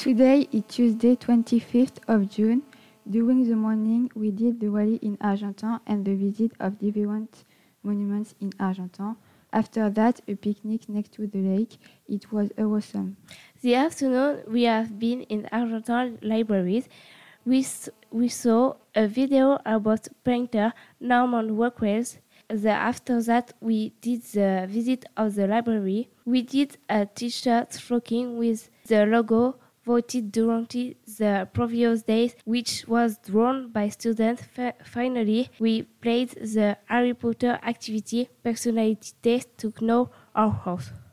Today is Tuesday, 25th of June. During the morning, we did the rally in Argentan and the visit of different monuments in Argentan. After that, a picnic next to the lake. It was awesome. The afternoon, we have been in Argentan libraries. We saw a video about painter Norman Rockwell. After that, we did the visit of the library. We did a t-shirt stocking with the logo voted during the previous days, which was drawn by students. Finally, we played the Harry Potter activity personality test to know our house.